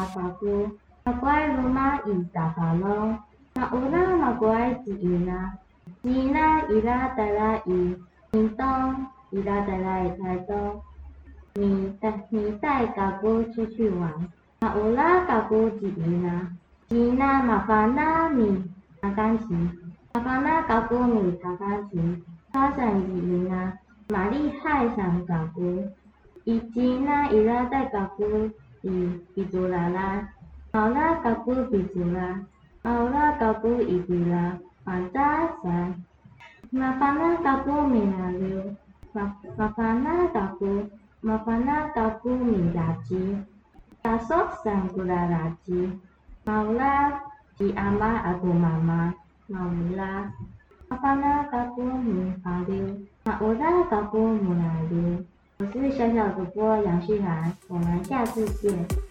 法姑，马乖罗马伊达法隆，马乌拉马乖吉伊那，吉那伊拉带来伊，伊东伊拉带来台东，你带嘎姑出去玩，马乌拉嘎姑吉伊那，吉那马法那米弹钢琴，马法那嘎姑米弹钢琴，他想吉伊那，马厉害想嘎姑。以及那伊拉带嘎姑伊祖拉拉，毛拉嘎姑比祖拉，毛拉嘎姑伊比拉，马扎塞，马法那嘎姑米拉溜，马法那嘎姑米拉吉，大索桑古拉拉吉，毛拉吉阿妈阿杜妈妈，毛拉，马法那嘎姑米法溜，马乌拉嘎姑米拉溜。我是小小主播杨旭涵，我们下次见。